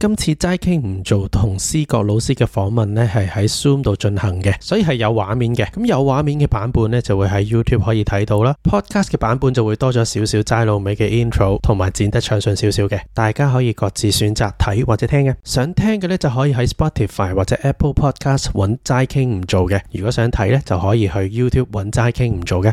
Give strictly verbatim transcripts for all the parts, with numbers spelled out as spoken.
今次齋傾唔做同思覺老師嘅訪問呢，係喺 Zoom 度進行嘅，所以係有畫面嘅。咁有畫面嘅版本呢，就會喺 YouTube 可以睇到啦。Podcast 嘅版本就會多咗少少齋老味嘅 intro，同埋剪得暢順少少嘅，大家可以各自選擇睇或者聽嘅。想聽嘅呢，就可以喺 Spotify 或者 Apple Podcast 揾齋傾唔做嘅。如果想睇呢，就可以去 YouTube 揾齋傾唔做嘅。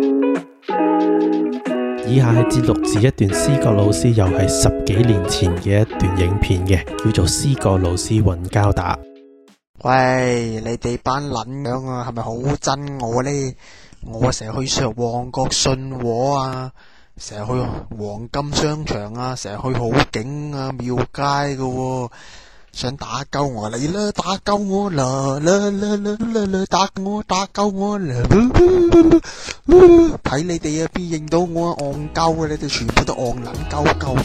以下係節錄自一段思覺老師又係十幾年前嘅一段影片嘅，叫做思覺老師揾膠打。 喂，你哋班撚樣啊，係咪好憎我呢？我成日去上旺角信和啊，成日去黃金商場啊，成日去好景啊廟街噶喎。想打鳩我嚟啦，打鳩我啦啦啦啦啦啦，打我打鳩我啦，睇你哋啊，邊認到我啊，戇鳩啊，你哋全部都戇撚鳩鳩。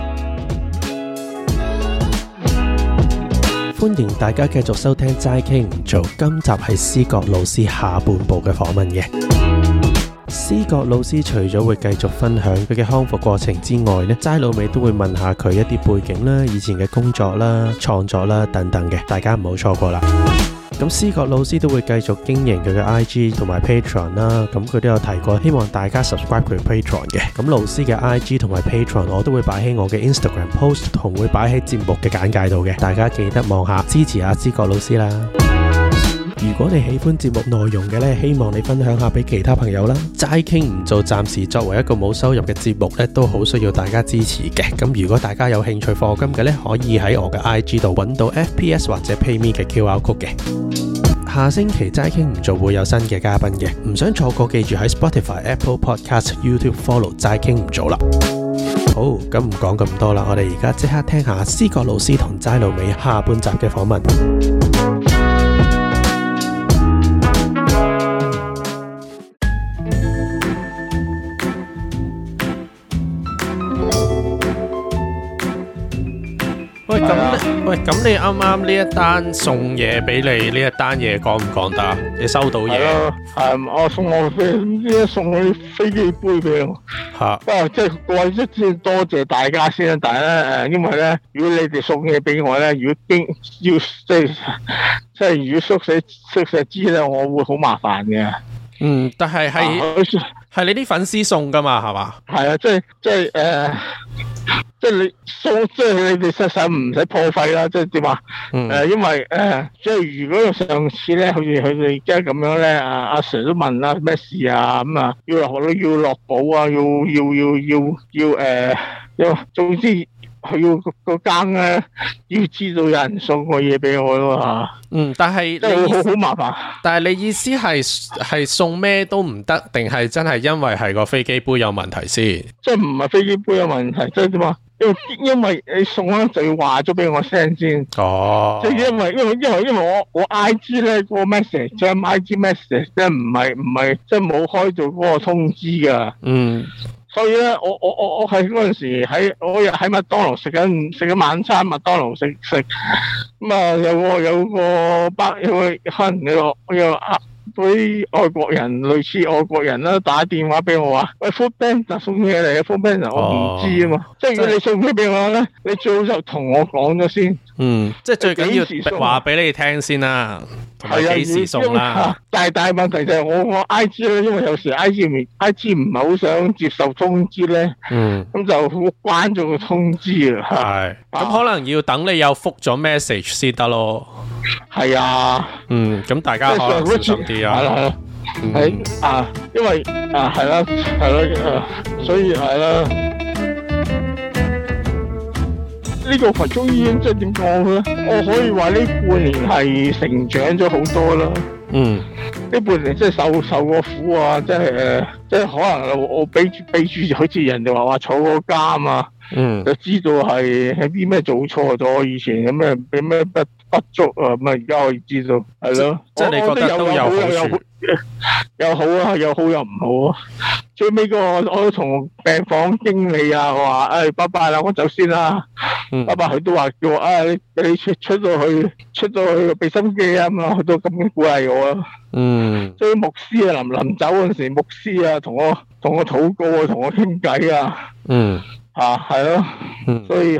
歡迎大家繼續收聽齋傾唔做，今集係思覺老師下半部嘅訪問嘅。思覺老師除咗會繼續分享佢嘅康復過程之外呢，齋老味都會問下佢一啲背景啦、以前嘅工作啦、創作啦等等嘅，大家唔好錯過啦。咁思覺老師都會繼續經營佢嘅 I G 同埋 Patreon 啦，咁佢都有提過希望大家 subscribe 佢 Patreon 嘅。咁老師嘅 I G 同埋 Patreon 我都會擺喺我嘅 Instagram post 同會擺喺節目嘅簡介度嘅，大家記得望下支持下思覺老師啦。如果你喜歡節目內容嘅呢，希望你分享下俾其他朋友啦。齋傾唔做，暫時作為一個冇收入嘅節目呢，都好需要大家支持嘅。咁如果大家有興趣課金嘅呢，可以喺我嘅 I G 度揾到 F P S 或者 PayMe 嘅 Q R code 嘅。下星期齋傾唔做會有新嘅嘉賓嘅，唔想錯過，記住喺 Spotify、Apple Podcast、YouTube follow 齋傾唔做啦。好，咁唔講咁多啦，我哋而家即刻聽下思覺老師同齋老味下半集嘅訪問。喂，咁喂，咁你啱啱呢一單送嘢俾你呢一單嘢講唔講得？你收到嘢？ 係我送我飛，唔知送我啲飛機杯俾我。吓，不過即係過一先多謝大家先啦。但係咧誒，因為咧，如果你哋送嘢俾我咧，如果經要即係即係如果宿舍宿舍知咧，我會好麻煩嘅。 嗯，但係係係你啲粉絲送噶嘛，係嘛？ 係啊，即係即係誒。即係你送，即係你哋實實唔使破費啦，即係點啊？誒、嗯呃，因為誒、呃，即係如果上次咧，好似佢哋而家咁樣咧，阿阿 Sir 都問啦，咩事啊？咁啊，要落要落保啊，要要要要要誒，要、呃、總之佢要個間咧，要知道有人送個嘢俾我咯吓。 嗯，但係即係好好麻煩。 但係你意思係係送咩都唔得，定係真係因為係個飛機杯有問題先？ 即係唔係飛機杯有問題，即係點啊？因為因為你送咧就要話咗俾我聲先。哦。即係因為因為因為因為我我 I G 咧嗰個 message，即係 I G message 即係唔係唔係即係冇開到嗰個通知噶。嗯。所以咧，我我我我喺嗰陣時喺我喺麥當勞食緊食緊晚餐，麥當勞食食咁啊，有個有個北有個可能有個有啊嗰啲外國人類似外國人啦，打電話俾我話：喂 ，Foodpanda 送嘢嚟嘅 Foodpanda 我唔知啊嘛。即係如果你送嘢俾我咧，你最好就同我講咗先。嗯， 即係最緊要話俾你聽先啦。係啊，幾時送啦？ 但係大問題就係我我 I G 咧，因為有時 I G 唔 I G 唔係好想接受通知咧，嗯，咁就關咗個通知啊。 係，咁可能要等你有覆咗 message 先得咯。 係啊， 嗯，咁大家可能小心啲啊。係啦， 係啊，因為啊係啦，係啦，所以係啦。呢個佛中醫院即係點講咧？我可以話呢半年係成長咗好多啦。嗯，呢半年即係受受過苦啊，即係誒，即係可能我俾住俾住，好似人哋話話坐過監啊。嗯，就知道係喺啲咩做錯咗，以前有咩俾咩不不足啊，咁啊而家可以知道，係咯。即係你覺得都有好處，有好啊，有好又唔好啊。最尾個我都同病房經理啊話，誒，拜拜啦，我走先啦。嗯，拜拜，佢都話叫我，啊，你你出出到去，出到去俾心機啊，咁啊，佢都咁樣鼓勵我啊。嗯，所以牧師啊，臨臨走嗰陣時，牧師啊，同我同我禱告啊，同我傾偈啊。嗯。啊，係咯，所以係咯，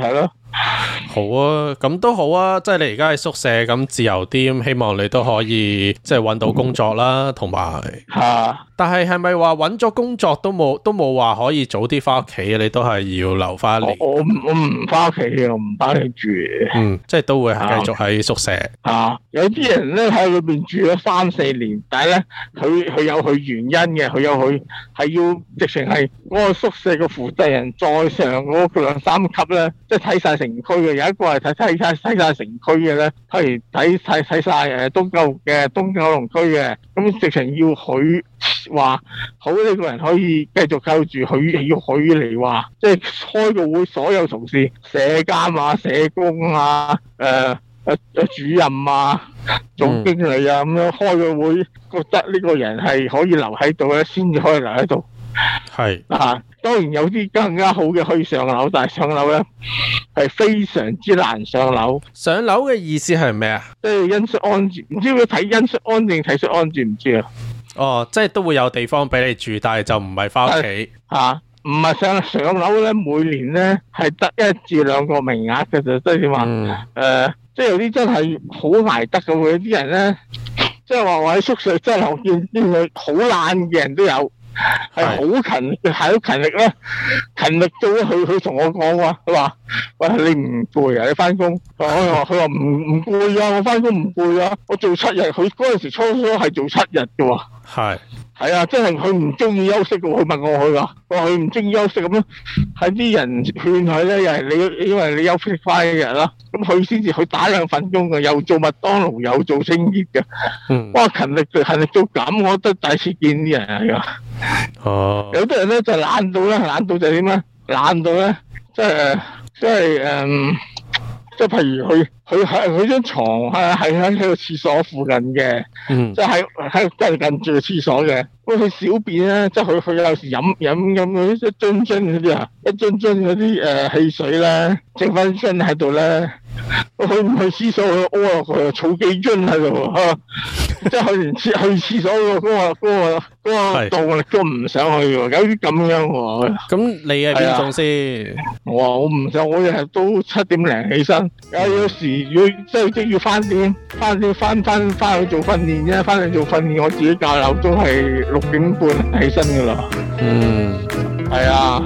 好啊，咁都好啊，即係你而家喺宿舍咁自由啲，咁希望你都可以即係搵到工作啦，同埋吓。 但係係咪話搵咗工作都冇都冇話可以早啲翻屋企啊？你都係要留翻一年。 我我我唔翻屋企嘅，我唔翻屋企住。 嗯，即係都會係繼續喺宿舍。 啊，有啲人咧喺裏邊住咗三四年，但係咧佢佢有佢原因嘅，佢有佢係要直情係嗰個宿舍嘅負責人再上嗰個兩三級咧，即係睇晒城區嘅。有一個係睇睇睇睇晒城區嘅咧，譬如睇睇睇晒誒東九嘅東九龍區嘅，咁直情要佢話好呢個人可以繼續救住佢，要佢嚟話，即係開個會，所有同事、社監啊、社工啊、誒誒誒主任啊、總經理啊咁樣開個會，覺得呢個人係可以留喺度咧，先至可以留喺度。係啊，當然有啲更加好嘅可以上樓，但係上樓咧係非常之難上樓。 上樓嘅意思係咩啊？ 即係因恤安置，唔知佢睇因恤安定體恤安置，唔知啊。哦， 即係都會有地方俾你住，但係就唔係翻屋企吓，唔係上上樓咧，每年咧係得一至兩個名額嘅啫，即係點話？誒、嗯呃，即係有啲真係好捱得嘅，有啲人咧，即係話我喺宿舍真係我見見佢好懶嘅人都有。係好勤力，係好勤力啦，勤力到咧，佢佢同我講話，佢話喂，你唔攰啊？你翻工？我話佢話唔唔攰啊，我翻工唔攰啊，我做七日，佢嗰陣時初初係做七日嘅喎。係係啊，真係佢唔中意休息嘅，佢問我佢話，我話佢唔中意休息咁樣，係啲人勸佢咧，又係你因為你休息翻一日啦，咁佢先至去打兩份工嘅，又做麥當勞，又做清潔嘅。嗯，哇，勤力勤力到咁，我覺得第一次見啲人係啊。哦，有啲人咧就懶到咧，懶到就點咧？懶到咧，即係即係誒，即係譬如佢佢喺佢張床係係喺喺個廁所附近嘅，嗯，即係喺喺近近住個廁所嘅。咁佢小便咧，即係佢佢有時飲飲飲嗰啲一樽樽嗰啲啊，一樽樽嗰啲誒汽水咧，剩翻樽喺度咧。佢唔去廁所，佢屙落去，儲幾樽喺度啊！即係去完廁去廁所嗰個嗰個嗰個動力都唔想去喎，有啲咁樣喎。咁你係邊種先？ 我話我唔想，我日日都七點零起身。有有時如果即係即要翻點翻點翻翻翻去做訓練啫，翻去做訓練，我自己校鬧鐘係六點半起身噶啦。嗯，係啊。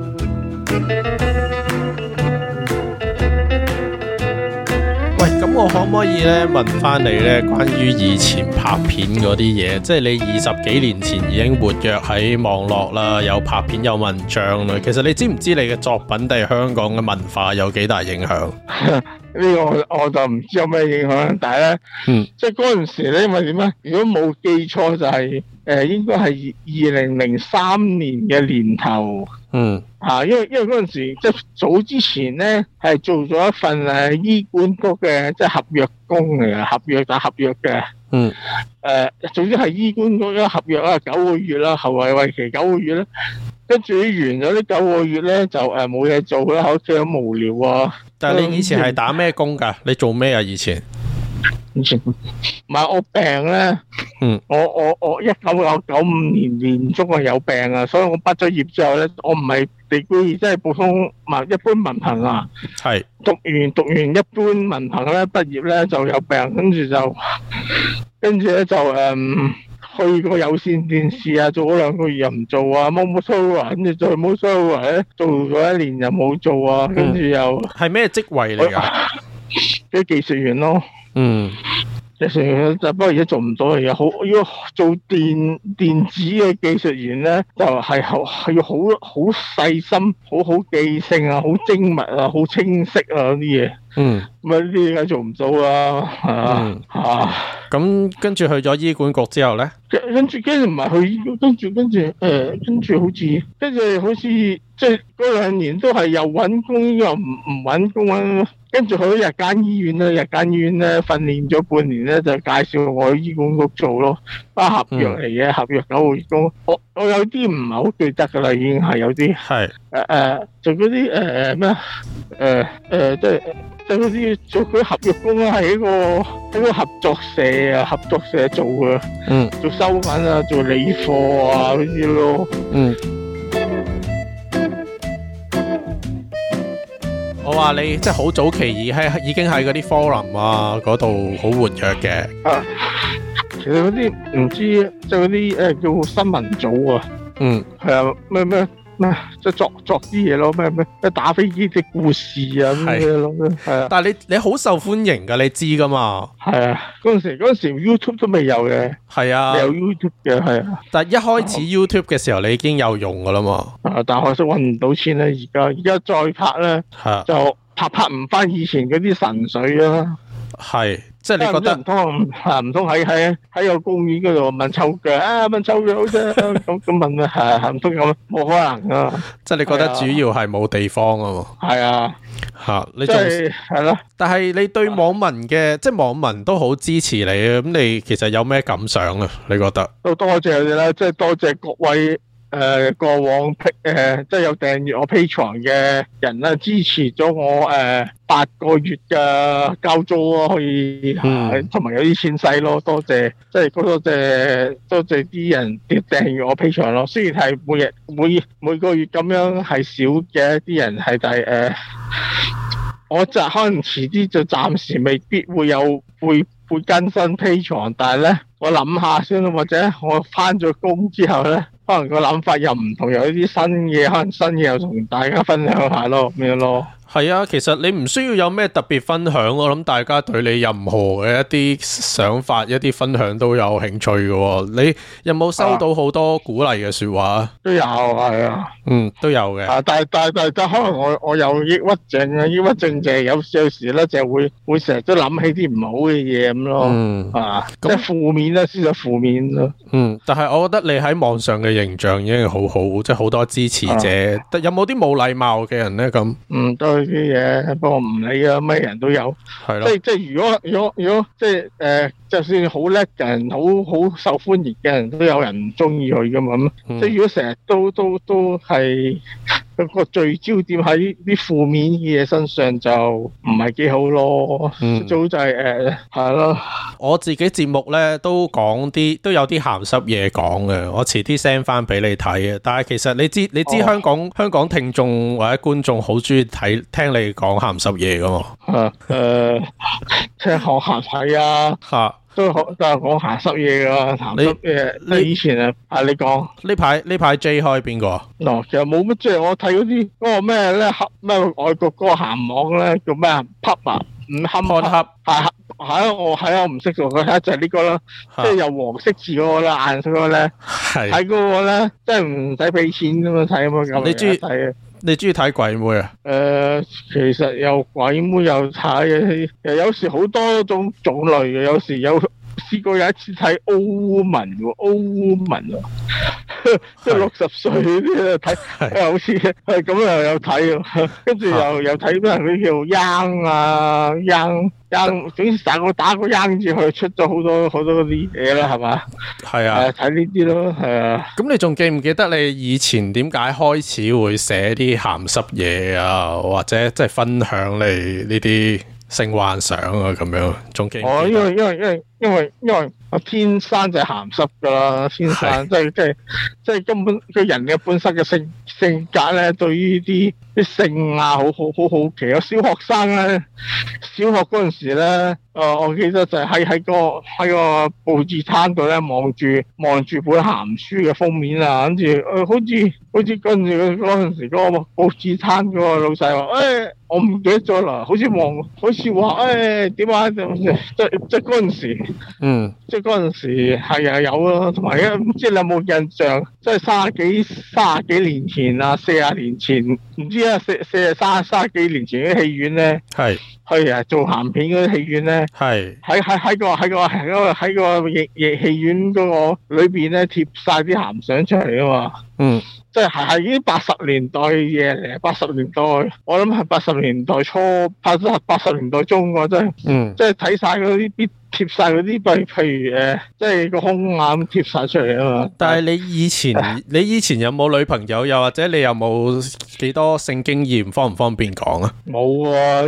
咁我可唔可以咧問翻你咧關於以前拍片嗰啲嘢？即係你二十幾年前已經活躍喺網絡啦，有拍片有文章啦。其實你知唔知你嘅作品對香港嘅文化有幾大影響？呢個我，我就唔知有咩影響，但係咧，嗯，即係嗰陣時咧，因為點咧？如果冇記錯就係、是、誒、呃，應該係二零零三年嘅年頭。嗯，吓，因為因為嗰陣時即係早之前咧，係做咗一份誒醫管局嘅即係合約工嚟嘅，合約打合約嘅。嗯，誒、呃，總之係醫管局嘅合約啦，九個月啦，後來為期九個月啦。跟住完咗呢九個月咧，就誒冇嘢做啦，好似好無聊啊。 但係你以前係打咩工噶？你做咩啊？以前？ 以前唔係我病咧，嗯，我我我一九九九五年年中啊有病啊，所以我畢咗業之後咧，我唔係地區即係普通文一般文憑啊，係讀完讀完一般文憑咧，畢業咧就有病，跟住就跟住咧就誒、嗯、去個有線電視啊，做咗兩個月又唔做啊，冇冇收啊，跟住再冇收啊，咧做咗一年又冇做啊，跟住又係咩職位嚟噶？ 啲技術員咯。嗯，技術員就不過而家做唔到，而家好要做電電子嘅技術員咧，就係好係要好好細心、好好記性啊、好精密啊、好清晰啊嗰啲嘢。嗯，咁啊呢啲而家做唔到啦，係啊吓。 咁跟住去咗醫管局之後咧， 跟住跟住唔係去醫管，跟住跟住誒，跟住好似跟住好似即係嗰兩年都係又搵工又唔唔搵工啊。跟住去咗日間醫院咧，日間醫院咧訓練咗半年咧，就介紹我去醫管局做咯，啊合約嚟嘅，合約九個月工。我我有啲唔係好記得噶啦，已經係有啲係誒誒做嗰啲誒咩誒誒即係即係嗰啲做嗰啲合約工啊，係一個喺個合作社啊，合作社做嘅，嗯，做收銀啊，做理貨啊嗰啲咯，嗯。 我話你即係好早期已喺已經喺嗰啲 forum 啊嗰度好活躍嘅。 啊，其實嗰啲唔知即係嗰啲誒叫新聞組啊。嗯，係啊，咩咩。咩即係作作啲嘢咯，咩咩咩打飛機啲故事啊咁樣咯，係啊。但係你你好受歡迎噶，你知噶嘛？係啊，嗰陣時嗰陣時 YouTube 都未有嘅。係啊，未有 YouTube 嘅係啊。但係一開始 YouTube 嘅時候，你已經有用噶啦嘛。啊，但係可惜搵唔到錢咧，而家而家再拍咧，就拍拍唔翻以前嗰啲神水啊。係。即係你覺得唔通啊？唔通喺喺喺個公園嗰度問臭腳啊？問臭腳好啫，咁咁問啊？係唔通咁？冇可能啊！即係你覺得主要係冇地方啊？係啊，吓你仲係咯？但係你對網民嘅即係網民都好支持你啊！咁你其實有咩感想啊？你覺得都多謝你啦，即係多謝各位。誒、呃，過往誒、呃，即係有訂閱我 Patreon 嘅人啦，支持咗我誒、呃、八個月嘅交租咯，可以，同埋、嗯、有啲錢使咯，多謝，即係多謝多謝啲人啲訂閱我 Patreon 咯。雖然係每日每每個月咁樣係少嘅，啲人係但係誒，我就可能遲啲就暫時未必會有會會更新 Patreon，但係咧我諗下先，或者我翻咗工之後咧。可能個諗法又唔同，有啲新嘢，可能新嘢又同大家分享下咯，咁樣咯。係啊，其實你唔需要有咩特別分享，我諗大家對你任何嘅一啲想法、一啲分享都有興趣嘅。你有冇收到好多鼓勵嘅說話？啊、都有，係啊，嗯，都有嘅。啊，但係但係但係可能我我有抑鬱症啊，抑鬱症就係有有時咧就會會成日都諗起啲唔好嘅嘢咁咯。嗯，啊，即係負面啦，思想負面咯。嗯，但係我覺得你喺網上嘅形象已經好好，即係好多支持者。啊、有冇啲冇禮貌嘅人咧？咁嗯，都。啲嘢，不過唔理啊，咩人都有，係咯。即係即係，如果如果如果即係誒、呃，就算好叻嘅人，好好受歡迎嘅人都有人唔中意佢噶嘛。咁、嗯、即係如果成日都都都係個聚焦點喺啲負面嘅嘢身上，就唔係幾好咯。嗯，早就係誒係咯。我自己節目咧都講啲都有啲鹹濕嘢講嘅，我遲啲 send 翻俾你睇嘅。但係其實你知你知香港、哦、香港聽眾或者觀眾好中意睇聽你講鹹濕嘢噶嘛？誒、呃，聽講鹹睇啊吓。都好，都係講鹹濕嘢噶，鹹濕嘢。你以前啊，啊你講呢排呢排 J 開邊個？嗱，其實冇乜，即係我睇嗰啲嗰個咩咧，咩外國嗰個鹹網咧叫咩啊 ？Pub 啊，唔堪 Pub 係係啊，我係啊，我唔識做，佢睇就係呢個啦，即係有黃色字嗰個啦，顏色嗰個咧，睇嗰個咧，即係唔使俾錢咁樣睇咁樣。你中意睇啊？你中意睇鬼妹啊？誒、呃，其實有鬼妹有睇，誒，有時好多種種類嘅，有時有試過有一次睇歐文喎，歐文喎，即係六十歲啲睇，好似係咁又有睇，跟住又又睇咩嗰啲叫 Young 啊 Young Young，總之打個打個 Young 字，佢出咗好多好多啲嘢啦，係嘛？係啊，睇呢啲咯，係啊。咁你仲記唔記得你以前點解開始會寫啲鹹濕嘢啊，或者即係分享你呢啲性幻想啊咁樣？仲記唔記得？哦，因為因為因為因為因為我天生就係鹹濕噶啦，天生即係即係即係根本個人嘅本身嘅性性格咧，對於啲啲性啊，好好好好奇。有小學生咧，小學嗰陣時咧，誒、呃，我記得就係喺喺個喺個報紙攤度咧，望住望住本鹹書嘅封面啊，跟住誒，好似好似跟住嗰陣時嗰個報紙攤嗰個老細話，誒、哎，我唔記得咗啦，好似望，好似話，誒，點啊，即即即嗰陣時，嗯，即嗰陣時係啊有咯，同埋唔知你有冇印象，即係卅幾卅幾年前啊，四十年前，唔知啊，四四卅卅幾年前啲戲院咧，係係啊做鹹片嗰啲戲院咧，係喺喺喺個喺個喺個喺個戲戲院嗰個裏邊咧貼晒啲鹹相出嚟啊嘛，嗯。即係係已經八十年代嘅嘢嚟，八十年代我諗係八十年代初，拍咗八十年代中嘅真係，嗯，即係睇晒嗰啲必貼晒嗰啲，譬譬如誒，即係個胸啊咁貼晒出嚟啊嘛。但係你以前你以前有冇女朋友，又或者你有冇幾多性經驗，方唔方便講啊？冇啊，因為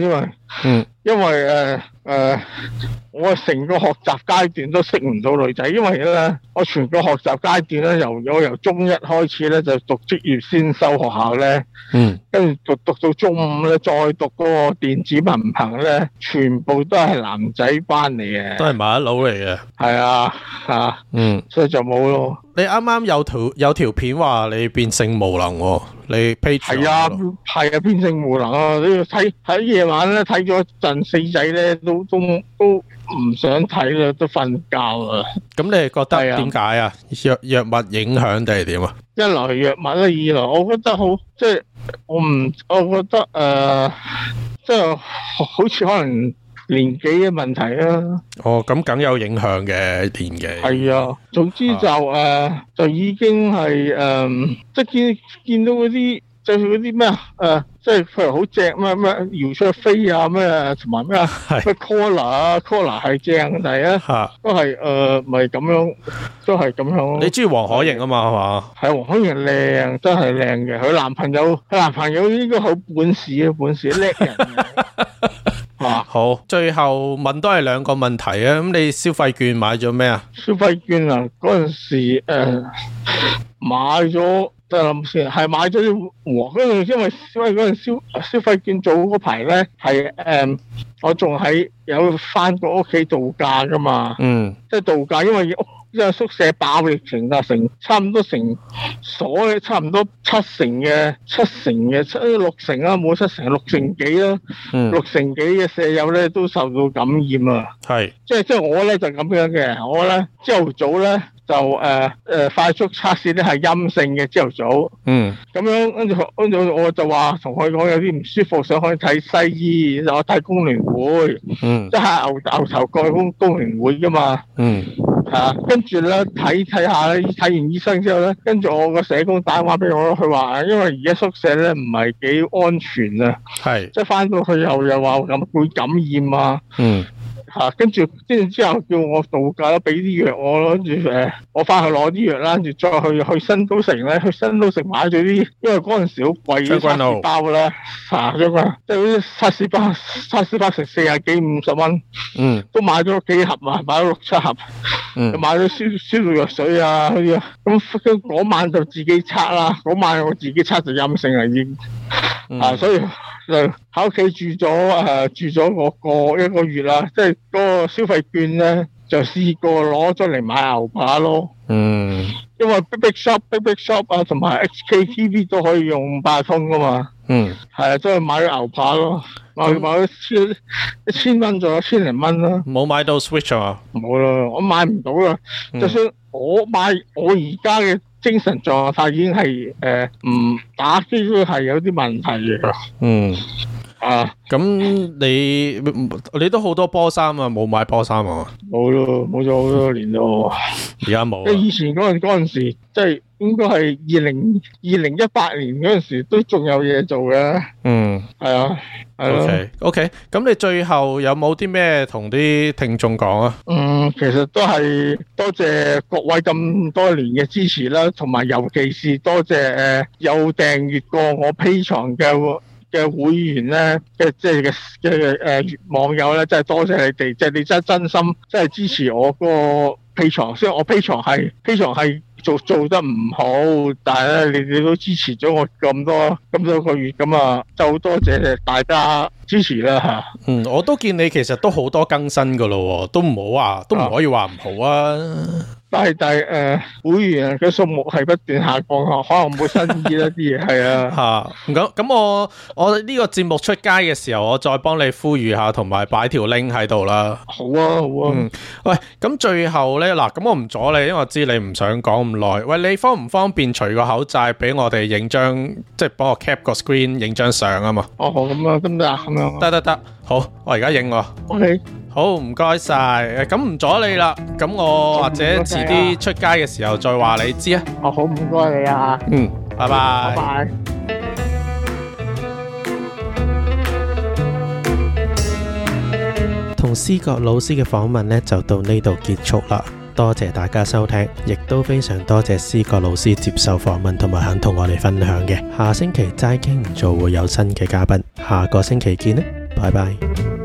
嗯，因為誒誒、呃呃，我成個學習階段都識唔到女仔，因為咧，我全個學習階段咧，由我由中一開始咧就讀職業先修學校咧，嗯，跟住讀讀到中五咧，再讀嗰個電子文憑咧，全部都係男仔班嚟嘅， 都係麻甩佬嚟嘅， 係啊，啊，嗯，所以就冇咯。 你啱啱有條有條片話你變性無能喎，你 page 係啊係啊變性無能啊！你要睇喺夜晚咧睇咗陣四仔咧，都都都唔想睇啦，都瞓覺啦。咁你係覺得點解啊？藥藥物影響定係點啊？ 一來藥物啦，二來我覺得好即係我唔，我覺得誒、呃，即係好似可能。年紀嘅問題啊！ 哦，咁梗有影響嘅年紀。係啊，總之就誒、啊呃，就已經係誒、呃，即係見見到嗰啲，就係嗰啲咩啊誒，即係譬如好正咩咩姚焯菲啊咩，同埋咩啊咩 Collar 啊 Collar 係正，但係啊都係誒，咪咁樣，都係咁樣。 你中意黃可盈啊嘛係嘛？ 係黃可盈靚，真係靚嘅。佢男朋友，佢男朋友應該好本事啊，本事叻人。 啊，好，最後問都係兩個問題啊。咁你消費券買咗咩啊？ 消費券啊，嗰陣時誒、呃、買咗，等我諗先，係買咗啲和。跟住因為因為嗰陣消消費券做嗰排咧，係誒、呃、我仲喺有翻過屋企度假噶嘛。嗯，即係度假，因為屋。因為宿舍爆疫情啊，成差唔多成所嘅差唔多七成嘅七成嘅七六成啊，冇七成六成幾啦，嗯、六成幾嘅舍友咧都受到感染啊。係，即係即係我咧就咁樣嘅，我咧朝頭早咧就誒誒、呃呃、快速測試咧係陰性嘅朝頭早。嗯，咁樣跟住跟住我就話同佢講有啲唔舒服，想去睇西醫，我睇工聯會。嗯，即係牛牛頭角工工聯會噶嘛。嗯。啊，跟住咧睇睇下咧，睇完醫生之後咧，跟住我個社工打電話俾我咯，佢話因為而家宿舍咧唔係幾安全啊，係，即係翻到去後又話咁會感染啊，嗯，吓，跟住跟住之後叫我度假咯，俾啲藥我咯，跟住誒，我翻去攞啲藥啦，跟住再去去新都城咧，去新都城買咗啲，因為嗰陣時好貴嘅測試包啦，吓咗嘛，即係嗰啲測試包，測試包成四十幾五十蚊，嗯，都買咗幾盒啊，買咗六七盒。嗯，買咗消消毒藥水啊，嗰啲啊，咁咁嗰晚就自己測啦，嗰晚我自己測就陰性啦已經，嗯、啊，所以就喺屋企住咗誒、呃，住咗個個一個月啦，即係嗰個消費券咧就試過攞咗嚟買牛扒咯，嗯，因為 Big Big Shop、Big Big Shop 啊，同埋 H K T V 都可以用八達通噶嘛，嗯，係啊，都係買咗牛扒咯。我買咗千一千蚊，仲有千零蚊啦。冇買到 Switch 啊？ 冇啦，我買唔到啦。嗯、就算我買，我而家嘅精神狀態已經係誒唔打機都係有啲問題嘅。嗯。啊，咁你你都好多波衫啊，冇買波衫啊？ 冇咯，冇咗好多年咯。 而家冇。 即係以前嗰陣嗰陣時，即係應該係二零二零一八年嗰陣時，都仲有嘢做嘅。嗯，係啊，係咯。 OK，OK，咁你最後有冇啲咩同啲聽眾講啊？ 嗯，其實都係多謝各位咁多年嘅支持啦，同埋尤其是多謝誒有訂閱過我 Patreon 嘅嘅會員咧，嘅即係嘅嘅誒網友咧，真係多謝你哋，即係你真係真心，真係支持我個 Patreon。雖然我 Patreon 係 Patreon 係做做得唔好，但係咧，你哋都支持咗我咁多咁多個月，咁啊，就好多謝大家支持啦吓。 嗯，我都見你其實都好多更新噶咯，都唔好話，都唔可以話唔好啊。 但係但係誒，會員嘅數目係不斷下降，可能冇新意一啲嘢係啊。 吓，咁咁我我呢個節目出街嘅時候，我再幫你呼籲下，同埋擺條 link 喺度啦。 好啊，好啊。 嗯，喂，咁最後咧嗱，咁我唔阻你，因為我知你唔想講咁耐。喂，你方唔方便除個口罩俾我哋影張，即係幫我 cap 個 screen 影張相啊嘛？ 哦，咁啊，得唔得啊？咁樣得得得，好，我而家影喎。 OK。 好，唔該晒，咁唔阻你啦，咁我或者遲啲出街嘅時候再話你知啊。 哦，好，唔該你啊。 嗯，拜拜。 拜拜。 同思覺老師嘅訪問呢就到呢度結束啦，多謝大家收聽，亦都非常多謝思覺老師接受訪問同埋肯同我哋分享嘅。下星期齋傾唔做會有新嘅嘉賓，下個星期見呢。 拜拜。